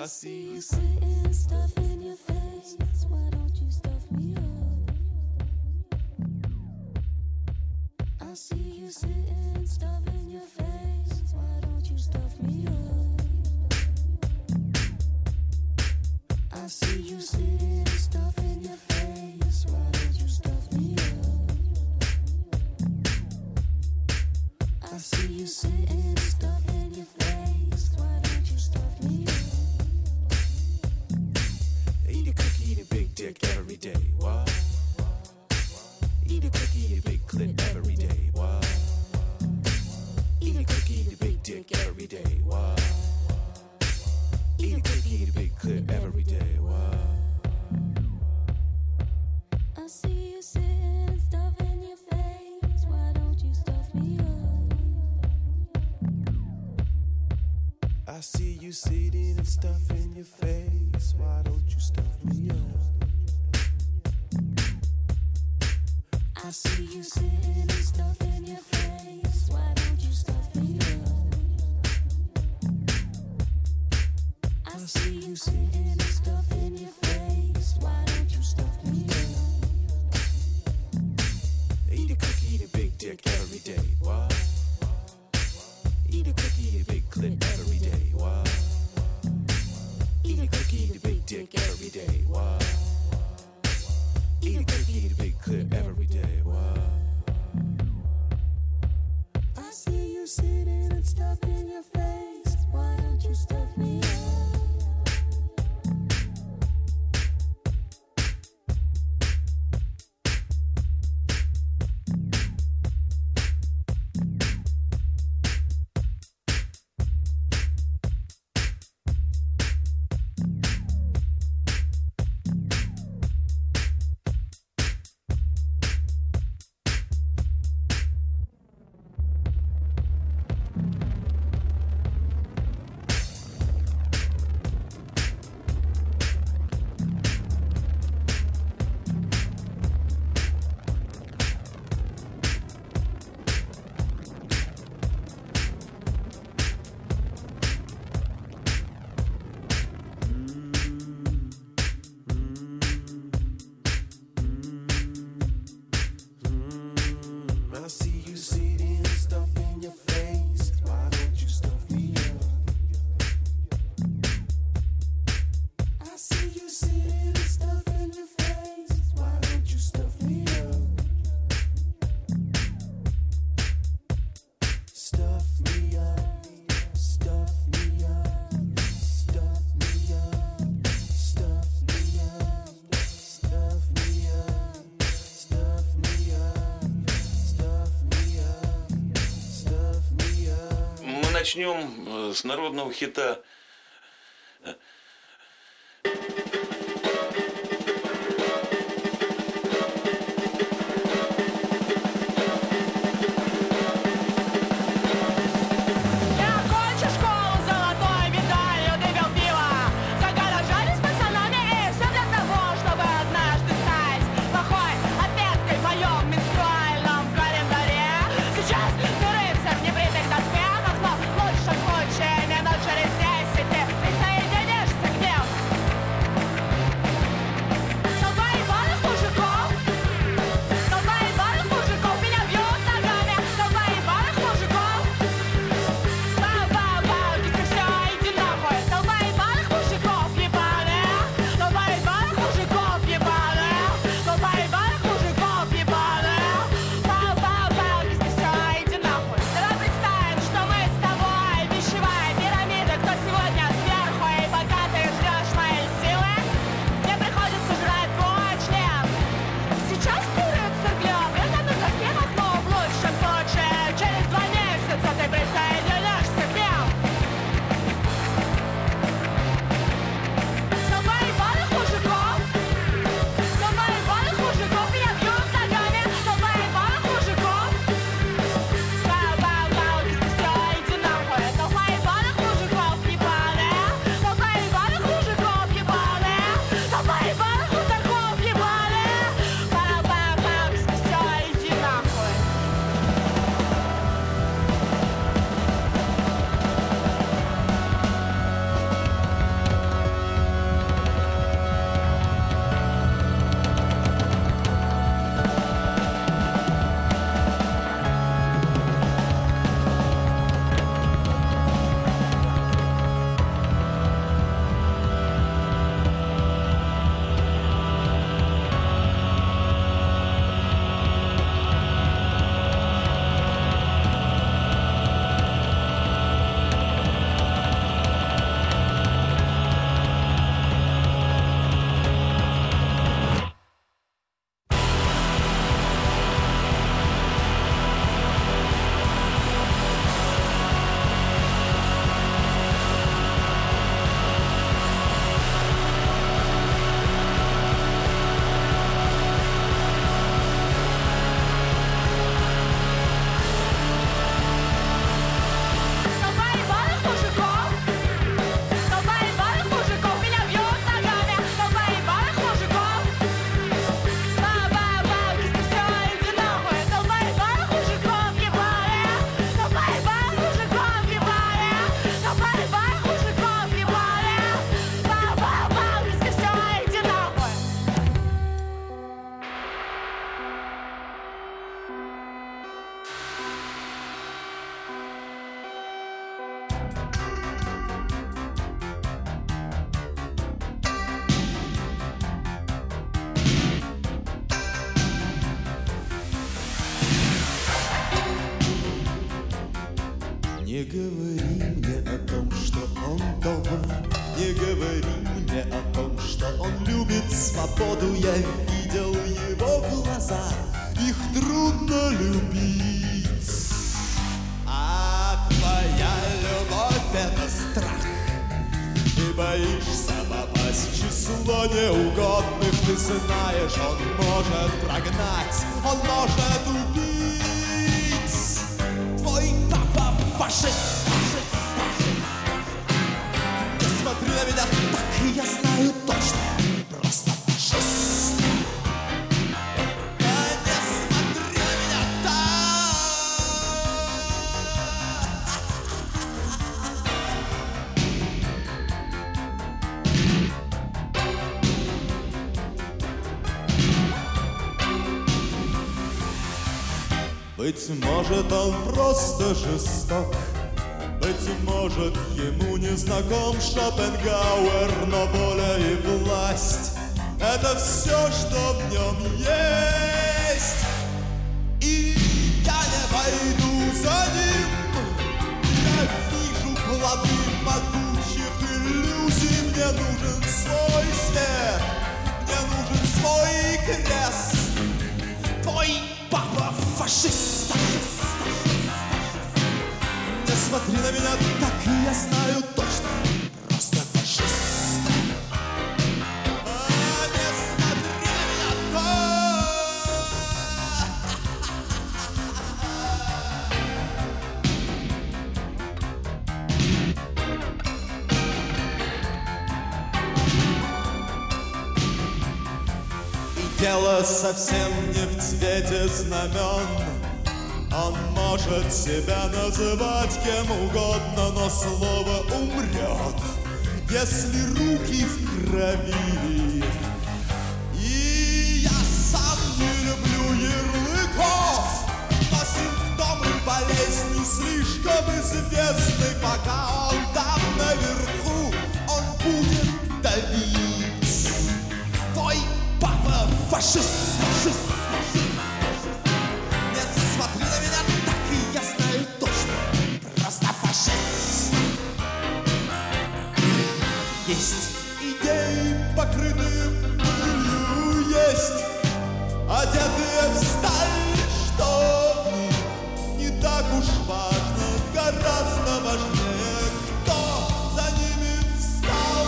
I see you sitting, stuff in your face. Why don't you stuff me up? I see you sitting, stuff in your face. Why don't you stuff me up? I see you sitting, stuff in your face. Why don't you stuff me up? I see you sitting, stuff in your face. Why don't you stuff me up? Eat a cookie, eat a big dick every day. What? Eat a cookie, eat a big clit every day. What? Eat a cookie, eat a big dick every day. What? Eat a cookie, eat a big clit every day. What? I see you sitting and stuff in your face. Why don't you stuff me up? I see you sitting and stuff in your face. Why don't you stuff me up? I see you sitting and stuff in your face. Why don't you stuff me up? I see you sitting and stuff in your face. Why don't you stuff me up? Eat a cookie, eat a big dick every day. What? Eat a cookie, eat a big clit every day. What? Eat a cookie, eat a big dick every day. What? Eat a cookie, eat a big clit every day. What? I see you sitting and stuff in your face. Why don't you stuff me up? I see you sitting and stuff in your face. Why don't you stuff me up? I see you sitting and stuff in your face. Why don't you stuff me up? Stuff me up, stuff me up, stuff me up, stuff me up, stuff me up, stuff me up, stuff me up, stuff me up. Мы начнем с народного хита. Я окончу школу золотой медалью, выпил пиво, заголожались пацанами, и все для того, чтобы однажды стать плохой отметкой в моем менструальном календаре. Сейчас мы рыцарь в небритых доспехах, но в лучшем случае минут через 10 говори мне о том, что он любит свободу. Я видел его глаза, их трудно любить. А твоя любовь — это страх. Ты боишься попасть в число неугодных. Ты знаешь, он может прогнать, он может убить. Твой папа фашист. Не смотри на меня так, я знаю точно. Просто фашист. Не смотри на меня так. Быть может, он просто жесток. Быть может, ему не знаком Шопенгауэр, но воля и власть — это все, что в нем есть. И я не пойду за ним. Я вижу плоды могучих иллюзий. Мне нужен свой свет, мне нужен свой крест. Твой папа фашист. Не смотри на меня так, я знаю точно. Просто фашист. Не смотри на меня так. И дело совсем не в цвете знамен. Он может себя называть кем угодно, но слово умрет, если руки в крови. И я сам не люблю ярлыков, но симптомы болезни слишком известны. Пока он там наверху, он будет давить. Твой папа фашист. Смотри на меня так, и я знаю точно. Просто фашист. Есть идеи, покрытые пылью, есть одетые в сталь, что в них не так уж важно. Гораздо важнее, кто за ними встал.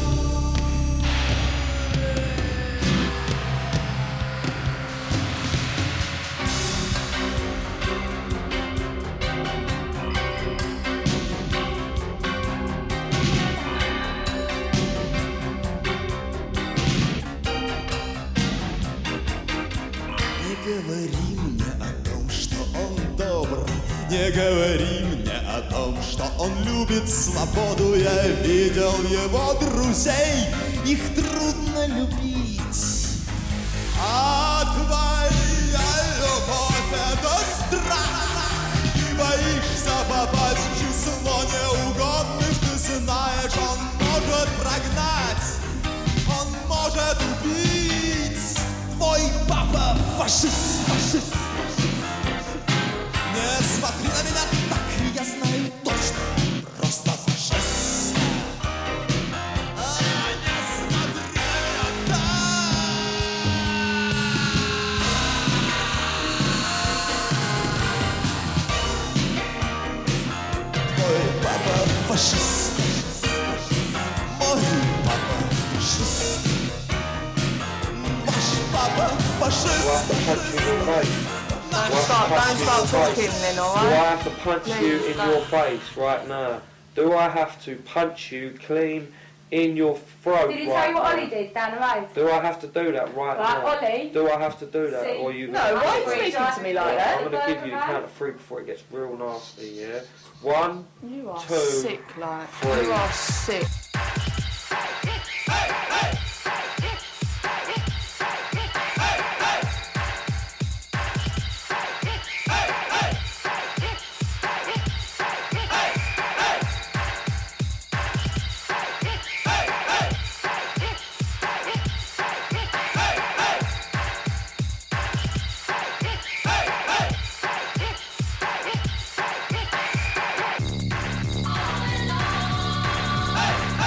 Не говори мне о том, что он добр. Не говори мне о том, что он любит свободу. Я видел его друзей, их трудно любить. А твоя любовь — это страх. Ты боишься попасть в число неугодных. Ты знаешь, он может прогнать, он может убить. Твой папа фашист. Не смотри на меня так, я знаю точно. Просто фашист. Не смотри на меня так. Твой папа фашист. Мой папа фашист. Ваш папа фашист. Don't start talking then, Do alright? I have to punch you in your face right now? Do I have to punch you clean in your throat Did he tell right you what now? Ollie did down the road? Do I have to do that right now? Ollie. Do I have to do that? See, Or you? No, why are you speaking to me like that? I'm going to give you the count of 3 before it gets real nasty, yeah? 1, You are 2, sick, like. 3. You are sick. Hey!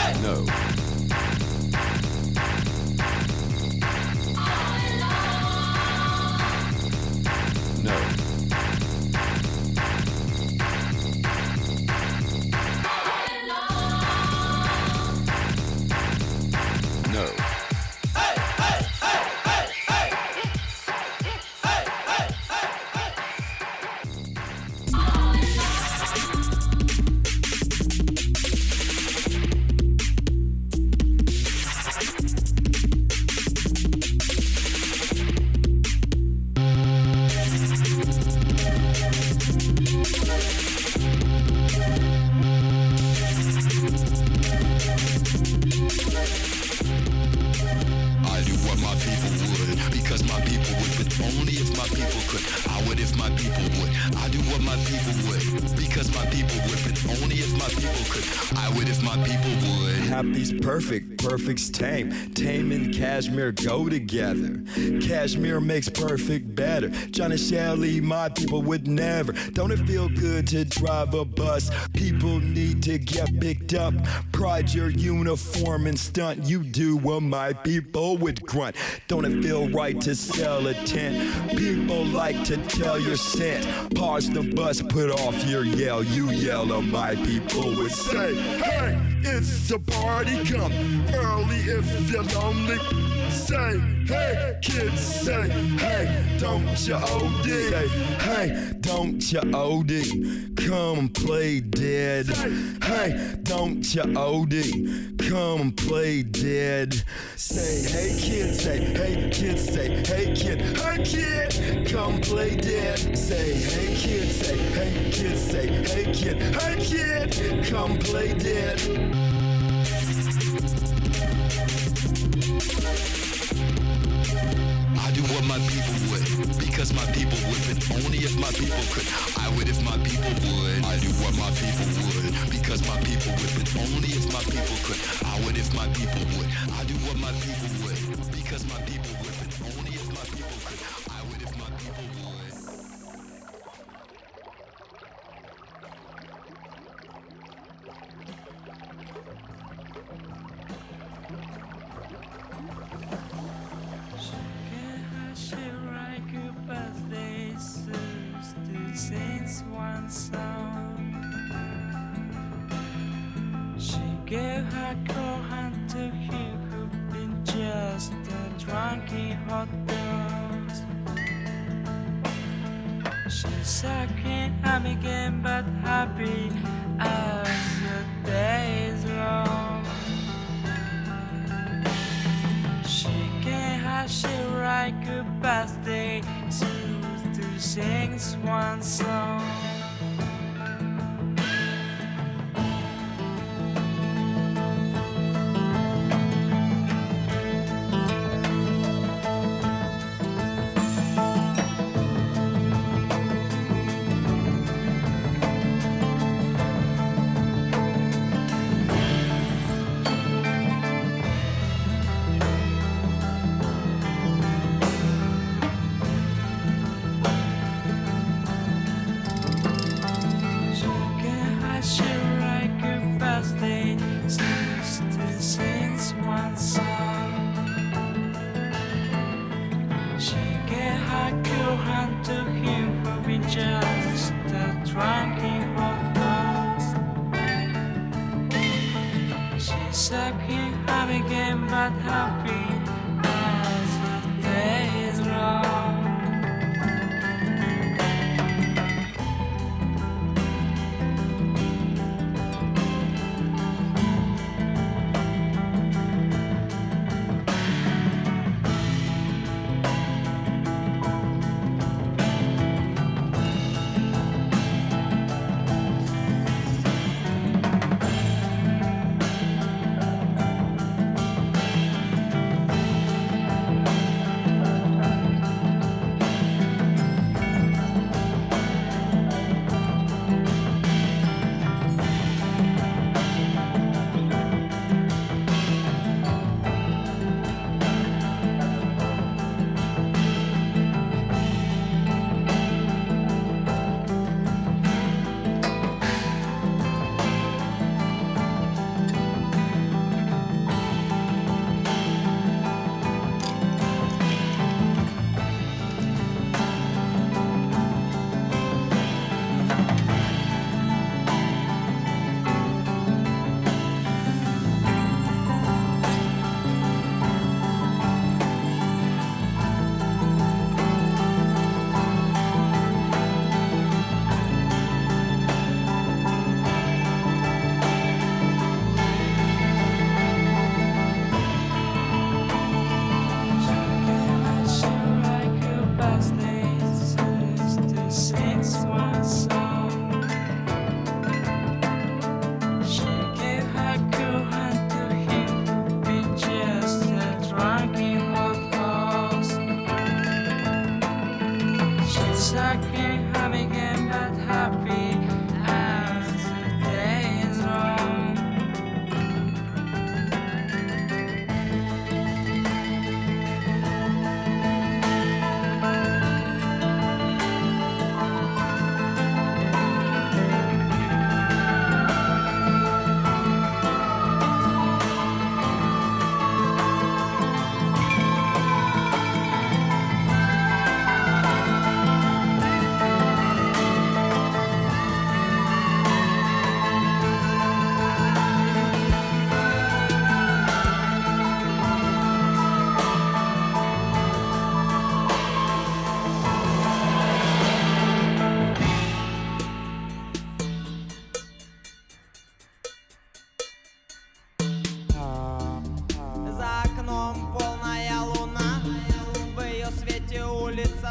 my people would, but only if my people could. I would if my people would. I do what my people would, because my people would, but only if my people could. I would if my people would. Happy's perfect, perfect's tame. Tame and cashmere go together. Cashmere makes perfect better. John and Shelly, my people would never. Don't it feel good to drive a bus? People need to get picked up. Pride your uniform and stunt. You do what my people would grunt. Don't it feel right to sell a tent? People like to tell your scent. Pause the bus, put off your yell. You yell or my people would say, hey, it's a party, come early if you're lonely. Say, hey, kids, say, hey, don't you OD? Say, hey, don't you OD? Come play dead. Hey, don't you OD? Come play dead. Say, hey, kid, say, hey, kid, say, hey, kid, come play dead. Say, hey, kid, say, hey, kid, say, hey, kid, come play dead. I do what my people would, because my people would, but only if my people could. I would if my people would. I do what my people would, because my people would, but only if my people could. I would if my people would. I do what my people would, because my people would, but only if my people could. I would if my people would. She gave her cold hand to him who'd been just drunk in hot dogs. She's sucking him again, but happy as the day is long. She gave her she write good birthday songs to sing one song.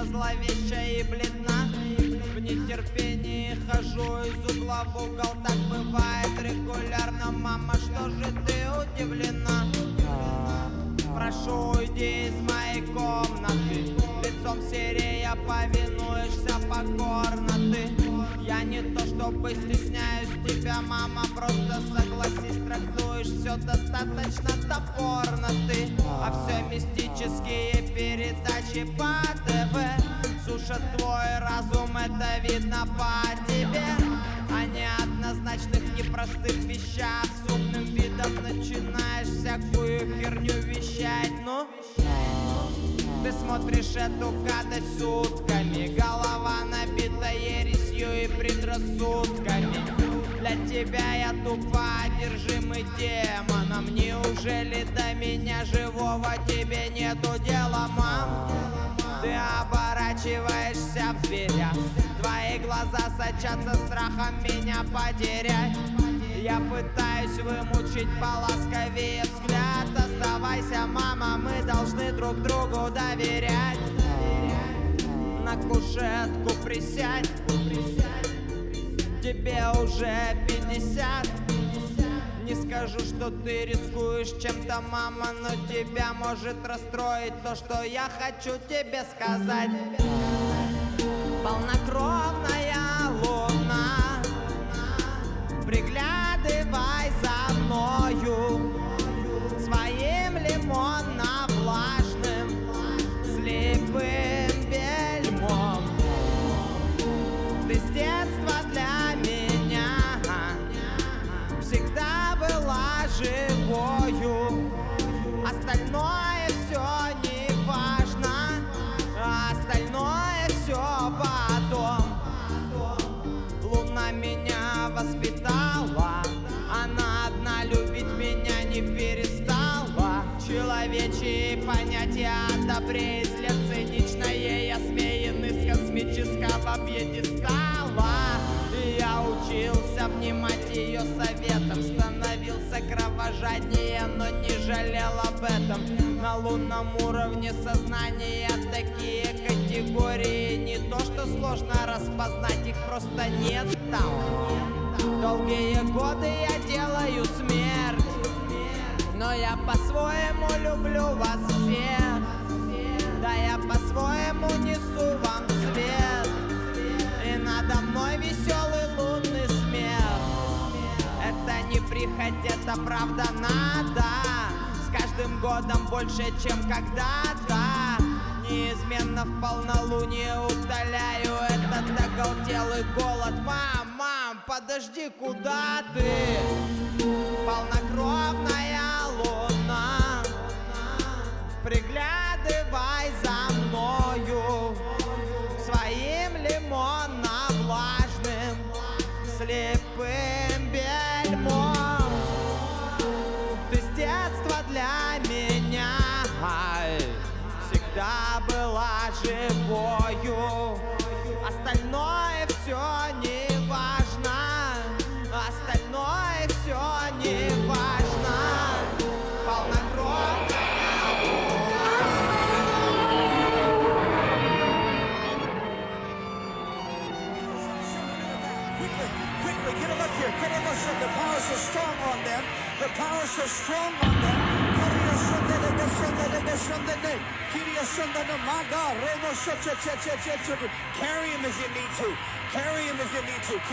лицо зловеще и бледна. В нетерпении хожу из угла в угол, так бывает регулярно. Мама, что же ты удивлена? Прошу, уйди из моей комнаты. Лицом серея, повинуешься покорно ты. Я не то чтобы стесняюсь тебя, мама, просто согласись, трактуешь все достаточно топорно ты. А все мистические передачи по ТВ сушат твой разум, это видно по тебе. О неоднозначных, непростых вещах с умным видом начинаешь всякую херню вещать. Ну, ты смотришь эту гадость сутками, голова набита ересью и предрассудками. Для тебя я тупо одержимый демоном. Неужели до меня живого тебе нету дела, мам? Ты оборачиваешься в дверях, твои глаза сочатся страхом меня потерять. Я пытаюсь вымучить поласковее взгляд. Оставайся, мама, мы должны друг другу доверять. На кушетку присядь, тебе уже 50. Не скажу, что ты рискуешь чем-то, мама, но тебя может расстроить то, что я хочу тебе сказать. Полнокровная луна, приглядывай за мною своим лимонно-влажным слепым бельмом. Ты с детства для меня всегда была живою. Остальное все не важно, остальное все потом. Луна меня воспитала, она одна любить меня не перестала. Человечьи понятия о добре и зле циничное я осмеяны с космического пьедестала. Я учился внимать ее советам, становился кровожаднее, но не жалел об этом. На лунном уровне сознания такие категории не то, что сложно распознать, их просто нет там. Долгие годы я делаю смерть, но я по-своему люблю вас всех. Да, я по-своему несу вам свет, и надо мной веселый лунный смех. Это не прихоть, это правда надо. С каждым годом больше, чем когда-то. Неизменно в полнолуние утоляю этот оголтелый голод. Мам, подожди, куда ты? Полнокровная луна, приглядывай за мною своим лимонно-влажным слепым бельмом. Ты с детства для меня всегда была живою. Остальное все не важно, остальное все не важно. Полнокровная. Quickly, get them up here. Get them up here. The power is so strong on them. The power is so strong on them. My God, carry him as you need to. Carry him as you need to.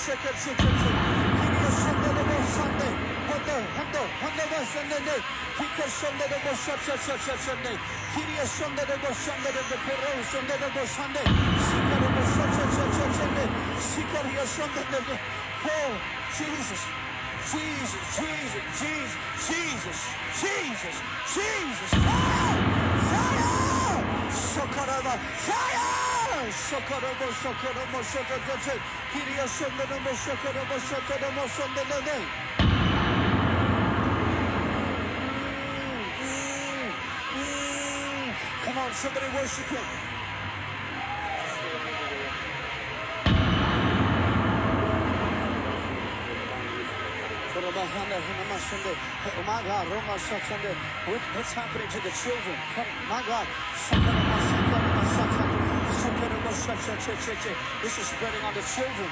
Oh, Jesus. Jesus, Jesus, Jesus, Jesus, Jesus, Jesus, fire! Fire! Socorro, fire! Socorro, socorro, socorro, Kiria socorro, socorro, socorro, socorro. Come on, somebody worship him. Oh my God, what's happening to the children? My God. This is spreading on the children.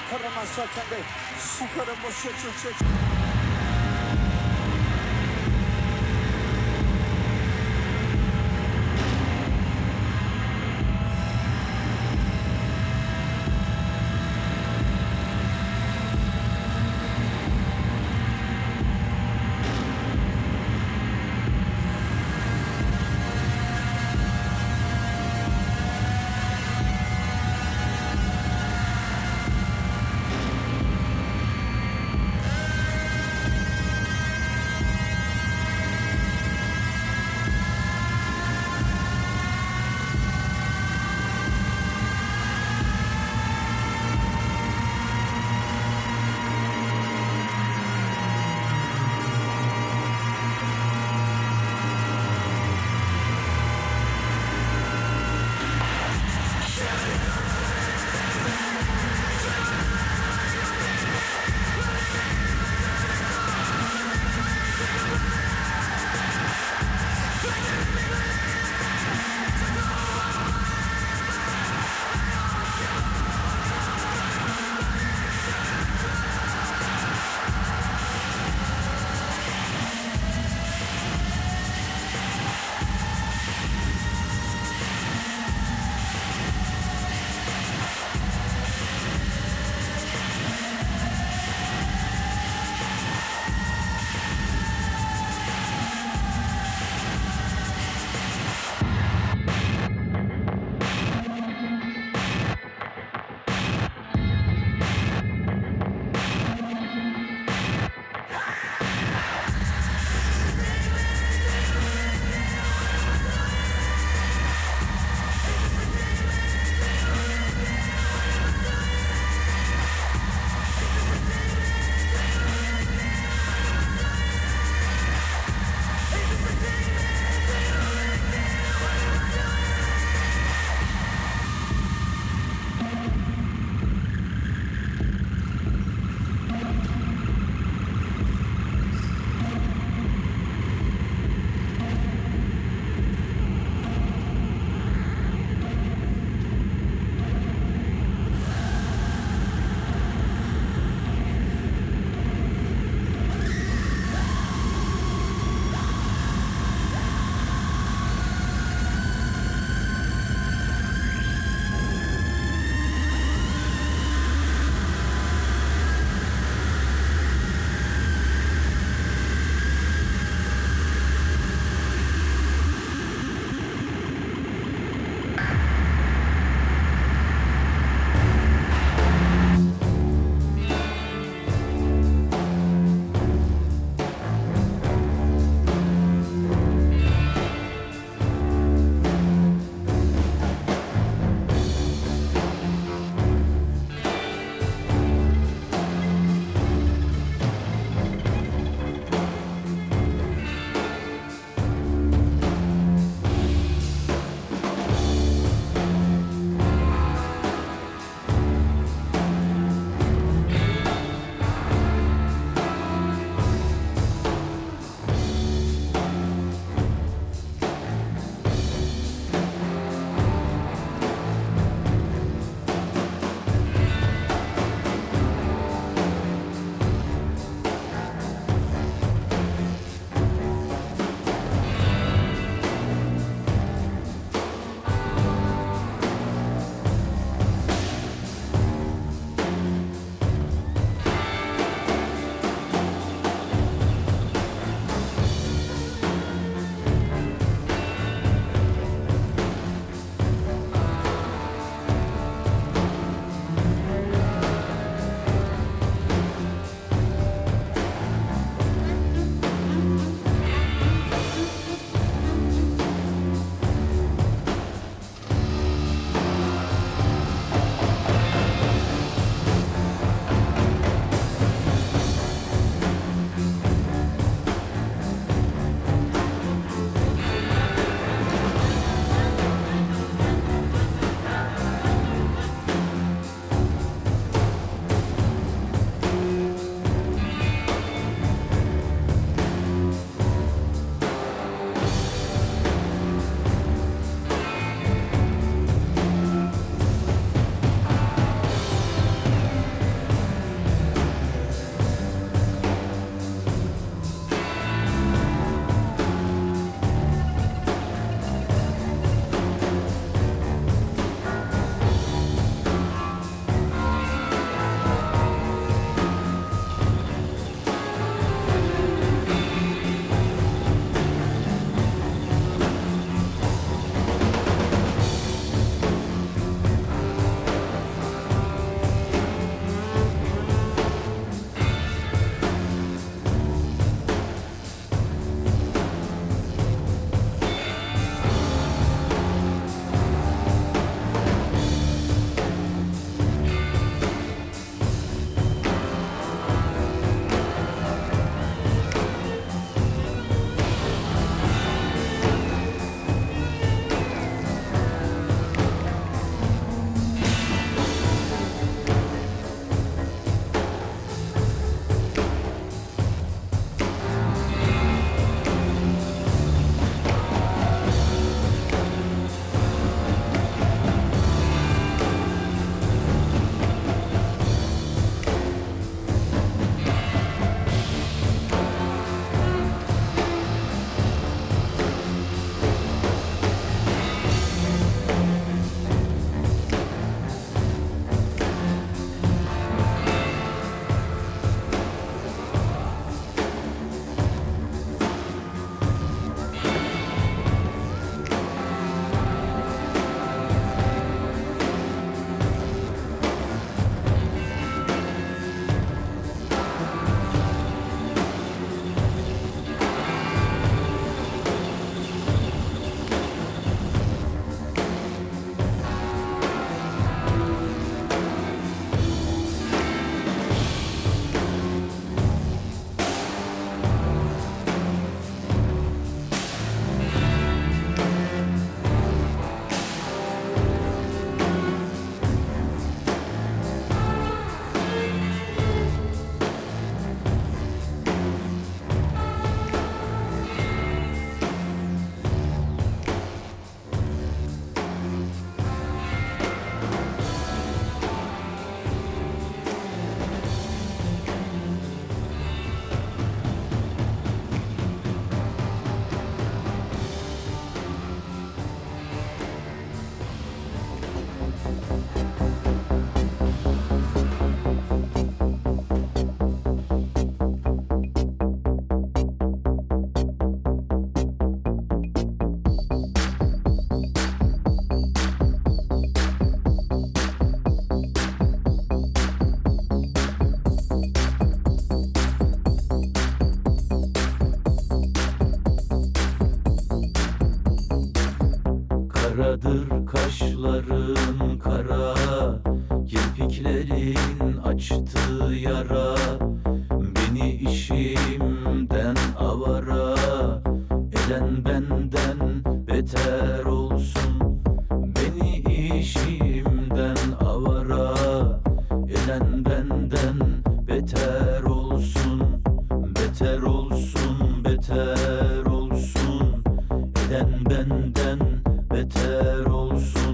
Karadır kaşların kara, kirpiklerin açtığı yara. Beni işimden avara eden benden beter olsun. Beni işimden avara eden benden beter olsun. Beter olsun, beter olsun. Eden benden beter olsun.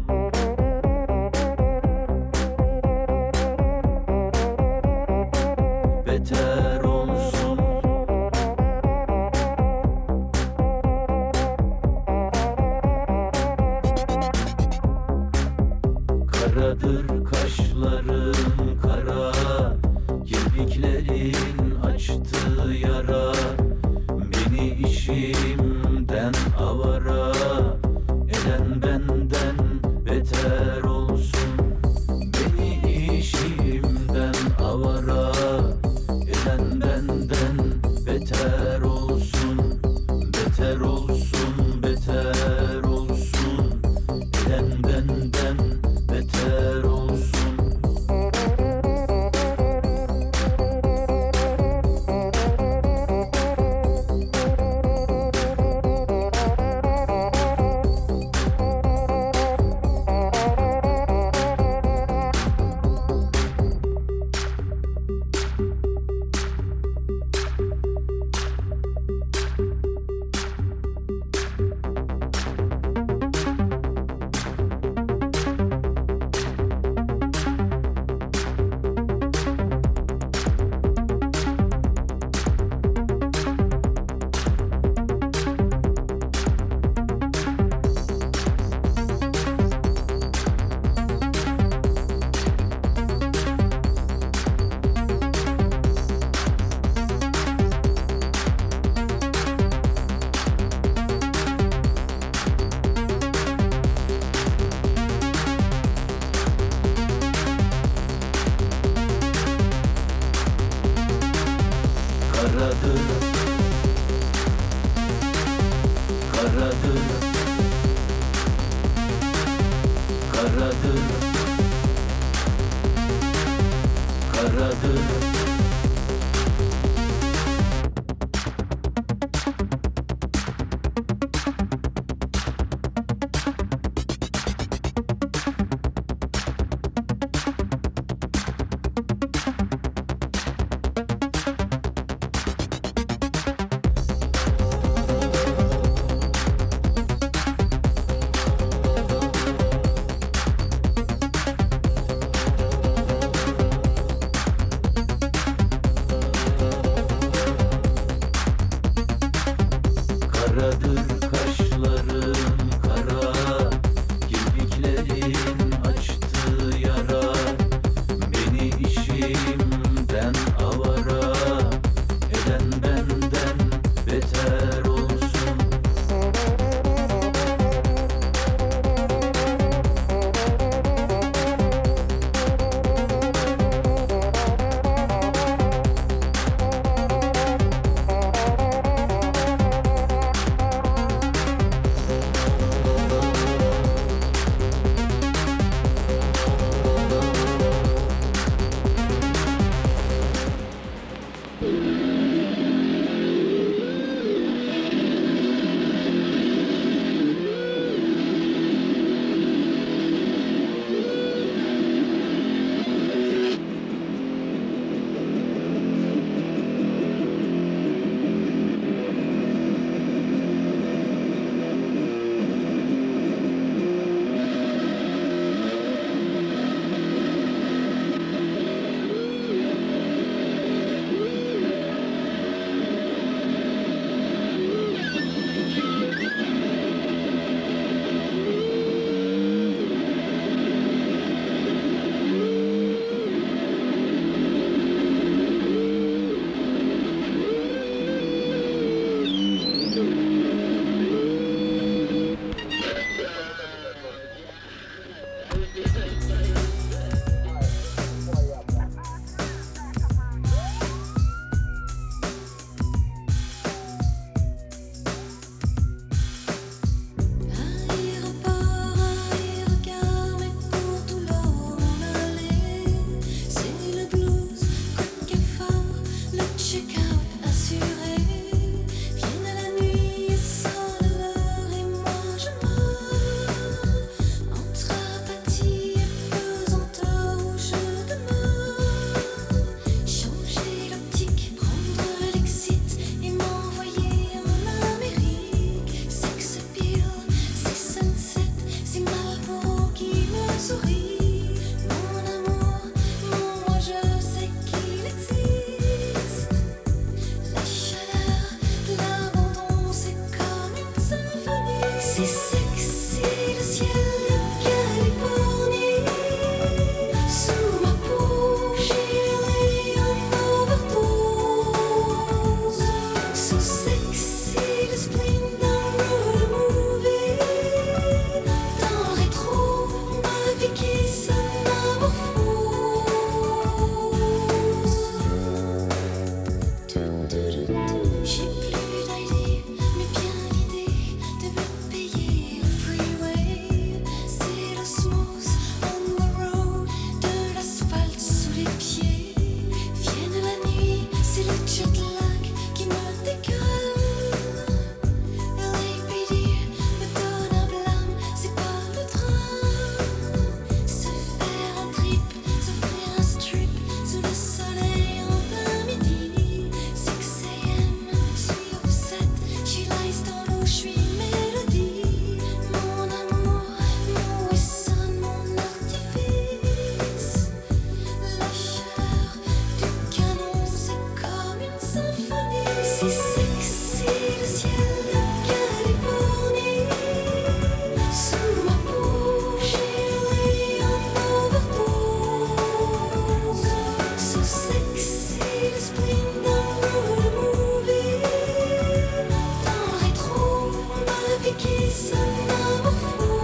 Beter olsun. Karadır kaşların kara, kirpiklerin açtığı yara. Beni işimden avara eden benden beter olsun. Beni işimden avara eden benden beter olsun. Beter olsun, beter olsun. Eden benden beter olsun. Karadır, karadır, karadır, karadır. Karadır kaşların kara, kirpiklerin açtığı yara. Beni işimden avara eden benden beter olsun. C'est sexy le ciel de Californie. Sous ma peau, j'ai un overdose. So sexy le spleen d'un road movie. Dans le rétro, ma vie qui s'anamorphose. J'ai plus d'idée, mais bien l'idée de me payer le freeway. C'est l'osmose on the road, de l'asphalte sous les pieds. Vienne la nuit, c'est le jet lag qui me dégueule. LAPD me donne un blâme, c'est pas le drame. Se faire un trip, s'offrir un strip sous le soleil en plein midi. 6 AM, je suis upset, je suis lice dans l'eau, je suis mélodie. Mon amour, mon whistle, mon artifice. La chaleur du canon, c'est comme une symphonie. C'est sexy le ciel de Californie. Sous ma peau, j'ai un overdose. So sexy le spleen d'un road movie. Dans le rétro, ma vie qui s'anamorphose.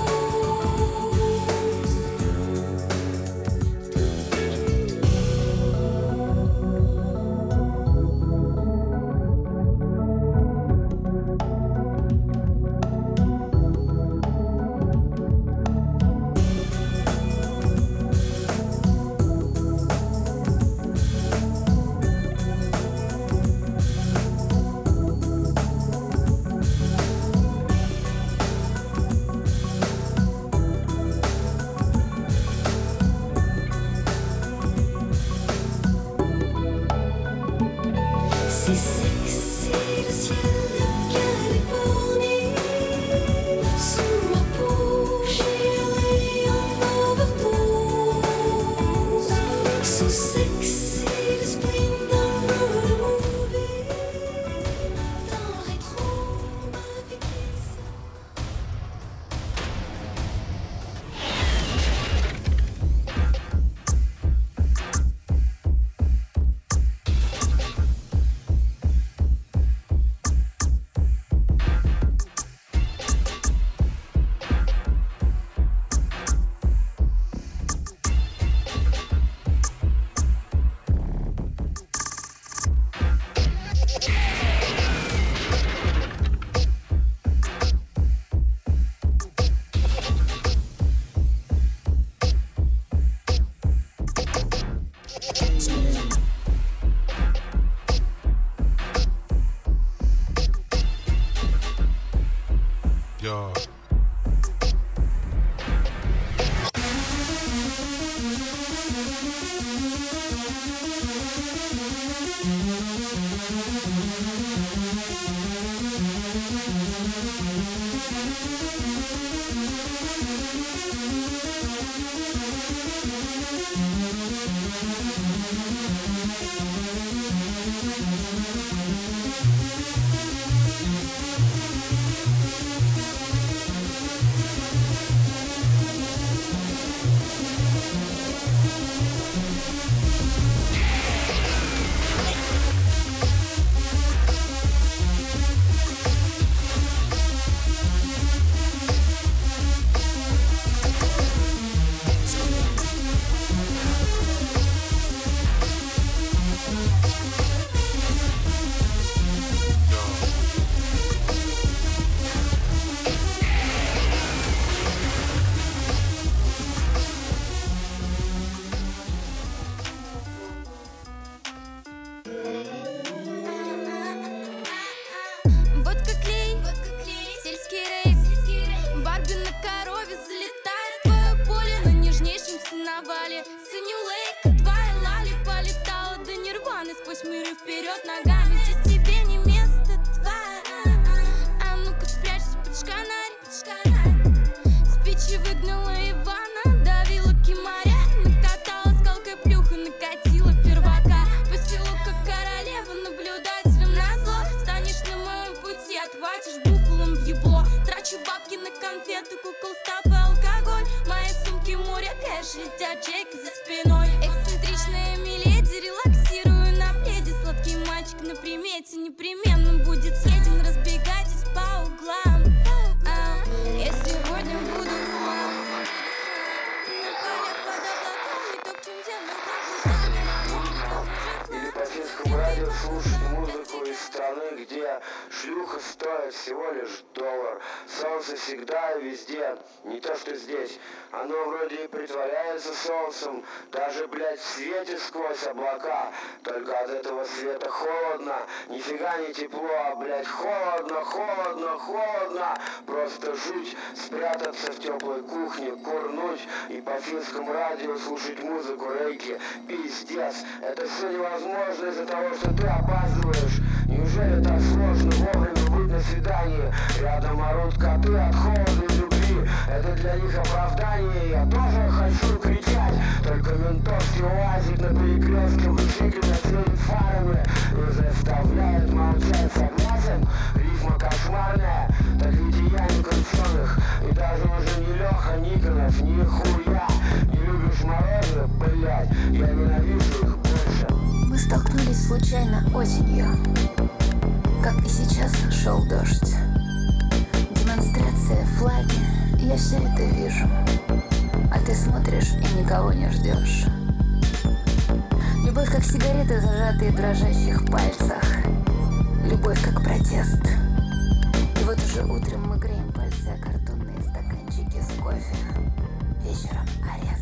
C'est sexy le ciel de Californie. Sous ma peau, j'ai un overdose. So sexy le spleen d'un road movie. Dans le rétro, ma vie qui Yo. Yo. летят чеки за спиной. Эксцентричная миледи, релаксирую на пледе. Сладкий мальчик на примете непременно будет съеден. Разбегайтесь по углам. Я сегодня буду на полях под облаками, топчем землю каблуками. Или по сельскому радио слушать музыку из страны, где шлюха стоит всего лишь $1. Солнце всегда и везде, не то что здесь. Оно вроде и притворяется солнцем, даже, блядь, в свете сквозь облака. Только от этого света холодно, нифига не тепло, а, блядь, холодно, холодно, холодно. Просто жуть, спрятаться в теплой кухне, курнуть и по финскому радио слушать музыку рейки. Пиздец, это все невозможно из-за того, что ты опаздываешь. Неужели так сложно вовремя быть на свидании? Рядом орут коты от холода и любви. Это для них оправдание, я тоже хочу кричать. Только ментовский УАЗик на перекрестке мучительно светит фарами и заставляет молчать. Согласен? Рифма кошмарная, так ведь и я не крученых. И даже уже не Леха Никонов, нихуя. Не любишь морозы? Блять, я ненавижу их больше. Мы столкнулись случайно осенью. Как и сейчас шел дождь. Демонстрация, флаги, я все это вижу. А ты смотришь и никого не ждешь. Любовь как сигареты, зажатые в дрожащих пальцах. Любовь как протест. И вот уже утром мы греем пальцы о картонные стаканчики с кофе. Вечером арест.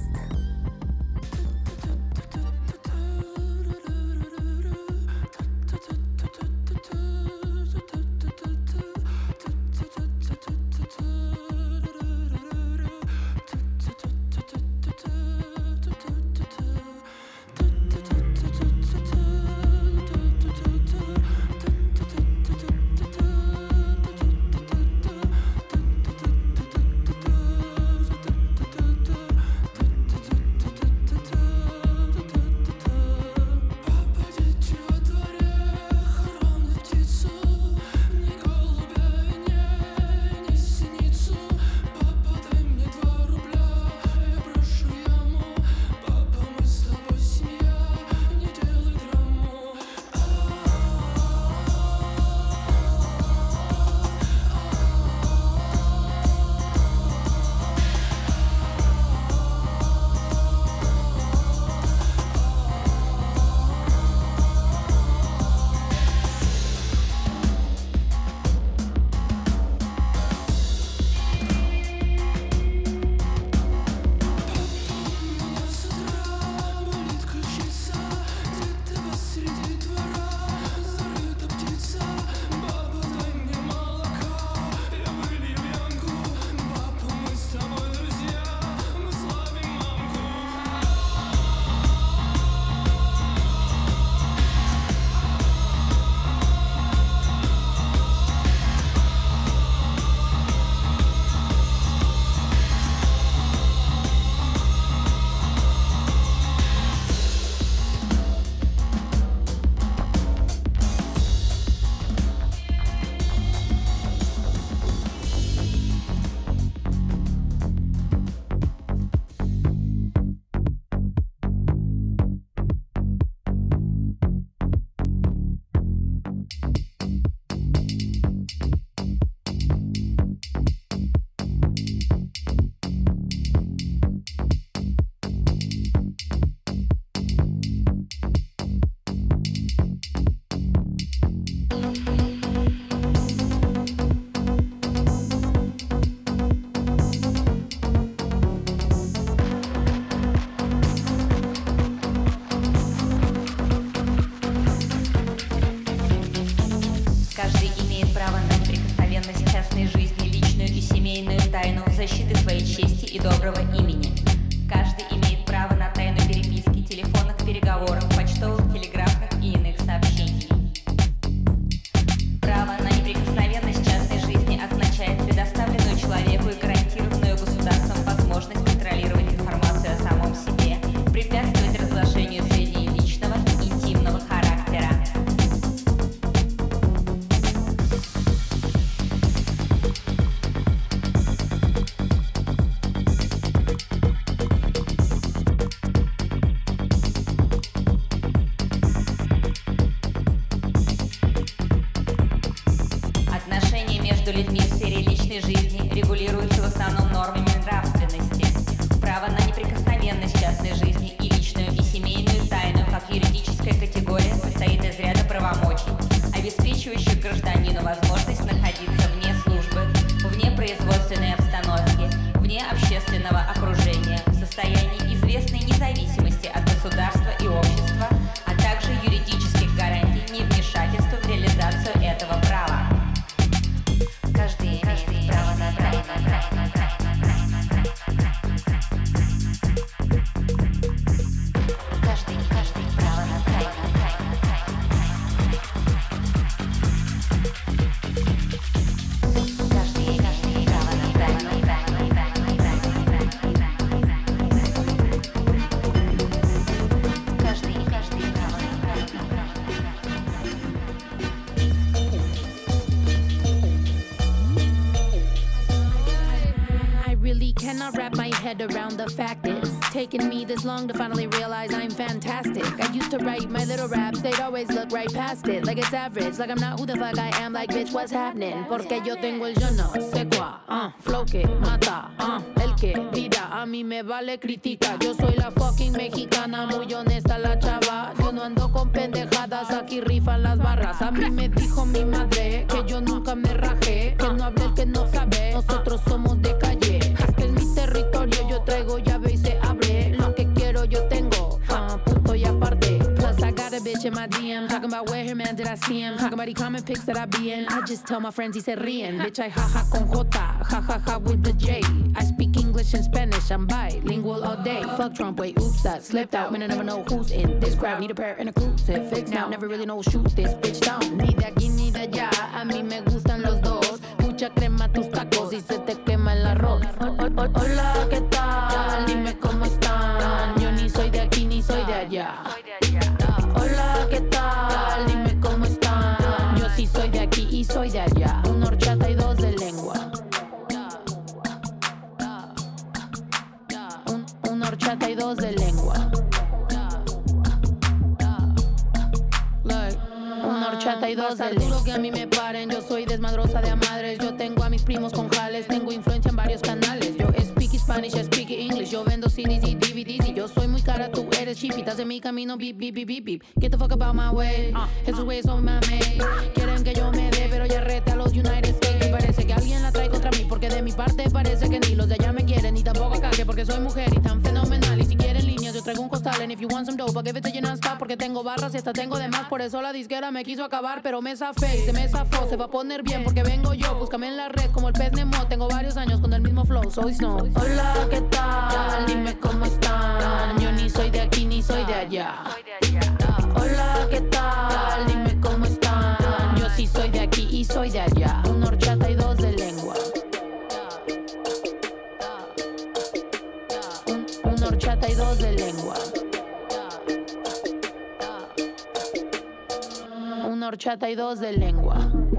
защиты своей чести и доброго имени. Каждый имеет право на тайну переписки, телефонных переговоров, почтовых, телеграфных и иных сообщений. Право на неприкосновенность частной жизни означает предоставленную человеку и гарантированную государством возможность контролировать информацию о самом себе, препятствовать разглашению сведений личного и интимного характера. сфере личной жизни регулируется в основном нормами нравственности. Право на неприкосновенность частной жизни и личную, и семейную тайну, как юридическая категория, состоит из ряда правомочий, обеспечивающих гражданину возможность находиться вне службы, вне производственной обстановки, вне общественного окружения, в состоянии известной независимости от государства и общества, а также юридических гарантий невмешательства в реализацию этого права. Каждый имеет право на тайну. Каждый право на тайну. Каждый право на тайну. Каждый право на I really cannot wrap my head around the fact it's taken me this long to finally realize I'm fantastic. I used to write my little raps, they'd always look right past it, like it's average, like I'm not who the fuck I am, like bitch, what's happening? Porque yo tengo el yo no sé cuá, flow que mata, el que dirá, a mí me vale critica. Yo soy la fucking mexicana, muy honesta la chava. Yo no ando con pendejadas, aquí rifan las barras. A mí me dijo mi madre que yo nunca me rajé, que no hable el que no sabe, nosotros somos de calle. Este es mi territorio, yo traigo llave y se abre. Lo que quiero yo tengo, punto y aparte. Plus I got a bitch in my DM, talking about where her man did I see him, talking about he comment pics that I be in. I just tell my friends y se ríen. Bitch I jaja con J, jajaja with the J. I speak English and Spanish, I'm bilingual all day. Fuck Trump, wait, oops, that slipped out. Man, I never know who's in this crowd. Need a pair and a crucifix now. Never really know shoot this bitch down. Ni de aquí ni de allá, a mí me gustan los dos. Mucha crema tus tacos y se te quema el arroz. Hola, ¿qué tal? Dime cómo están. Yo ni soy de aquí ni soy de allá. Hola, ¿qué tal? Dime cómo están. Yo sí soy de aquí y soy de allá. Una horchata y dos de lengua. Una horchata y dos de lengua. Una horchata y dos de lengua. Duro que a mí me paren, yo soy desmadrosa de a madres. Yo tengo a mis primos con jales, tengo influencia en varios canales. Yo speak Spanish, speak English. Yo vendo CDs y DVDs y yo soy muy cara, tú eres cheap. Estás en mi camino, beep, beep, beep, beep, beep. Get the fuck about my way, esos güeyes son mame. Quieren que yo me dé, pero ya rete a los United States. Y parece que alguien la trae contra mí, porque de mi parte parece que ni los de allá me quieren, ni tampoco acá, que porque soy mujer y tan fenomenal. Y si quieren líneas, yo traigo un costal. And if you want some dope, I'll give it to you non-stop, porque tengo barras y hasta tengo de más. Por eso la disquera me quiso acabar, pero me zafé y se me zafó. Se va a poner bien porque vengo yo, búscame en la red como el pez Nemo. Tengo varios años con el mismo flow, soy Snow. Hola, ¿qué tal? Dime cómo están. Yo ni soy de aquí ni soy de allá. Hola, ¿qué tal? Dime cómo están. Yo sí soy de aquí y soy de allá. Una horchata y dos de lengua. Una horchata y dos de lengua. Una horchata y dos de lengua.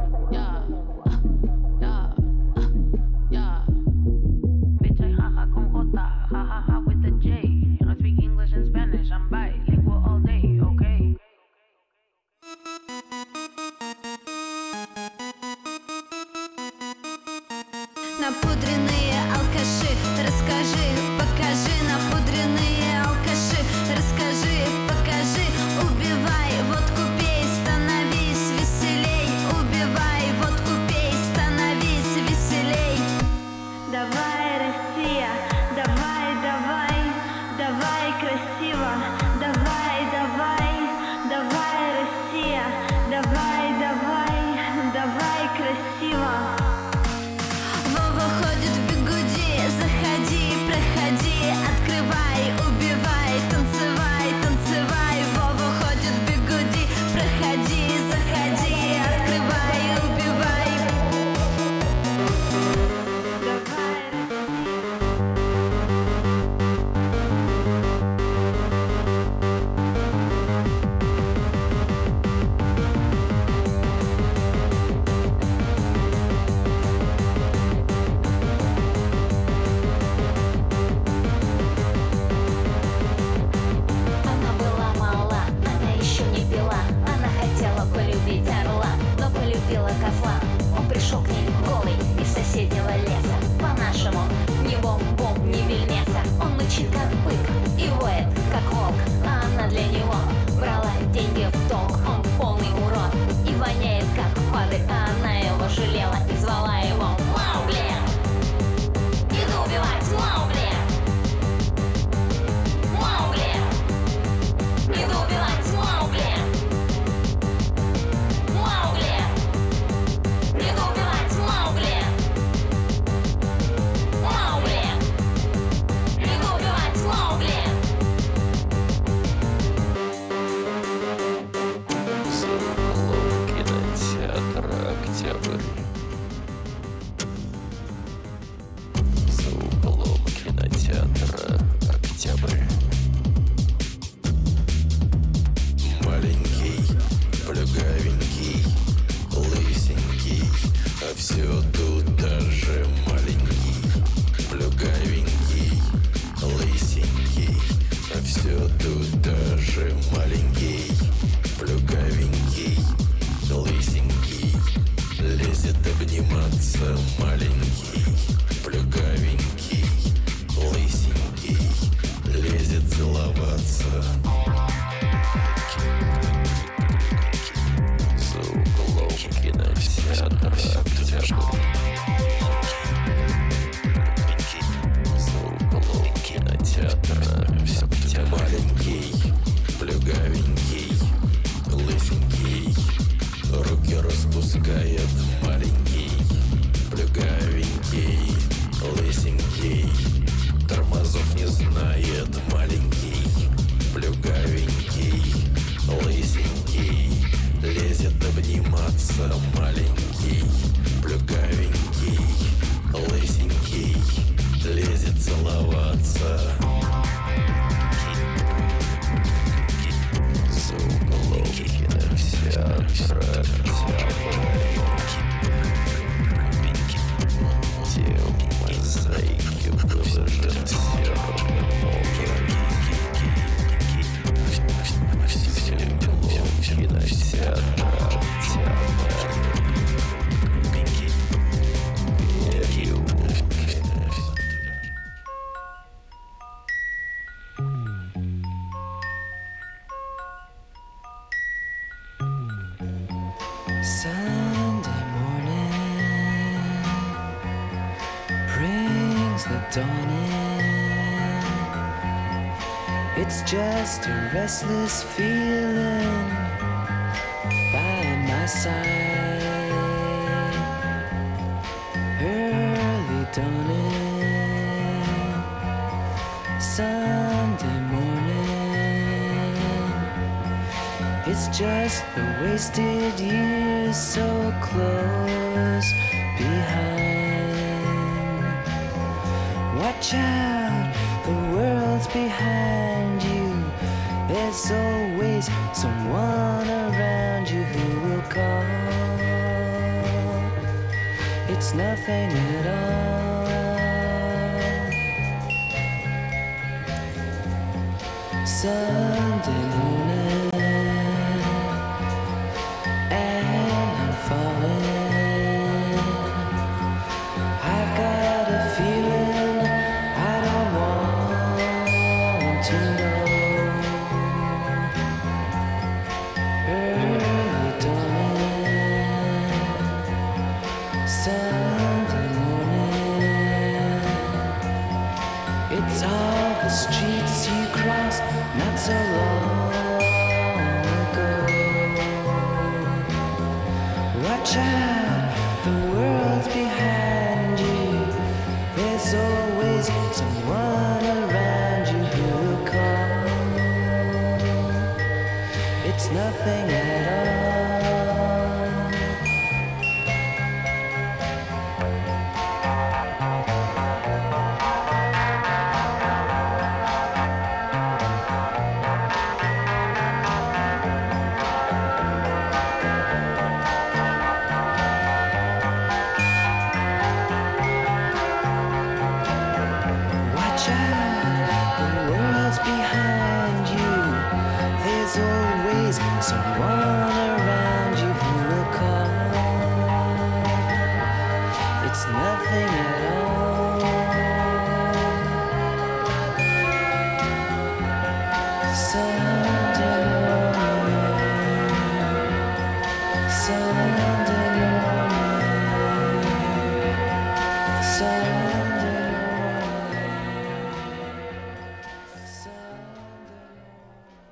Bitch, I jaja con J, jajaja with the J. I speak English and Spanish, I'm bilingual all day, okay? Напудренные алкаши, расскажи, покажи. Напудренные алкаши, расскажи, покажи. Убивай, водку пей, становись веселей. Убивай, водку пей, становись веселей. Давай, Россия, давай, давай, давай красиво. Давай, давай, давай, Россия, давай, давай, давай красиво. Вова ходит в бигуди, заходи, проходи, открывай, убивай. прятаться. За углом кинотеатра те мозаики выложат серым Sunday morning brings the dawn in. It's just a restless feeling by my side. Early dawning, Sunday morning. It's just the wasted years so close behind. Watch out, the world's behind you. There's always someone around you who will call. It's nothing at all. Sunday morning, and I'm falling. I've got a feeling I don't want to know. Early dawning, Sunday morning. It's all the streets you crossed not so long ago. Watch out, the world's behind you. There's always someone around you who will call. It's nothing at all. Watch out, the world's behind you. There's always someone around you who will call. It's nothing at all. Sunday morning, Sunday morning, Sunday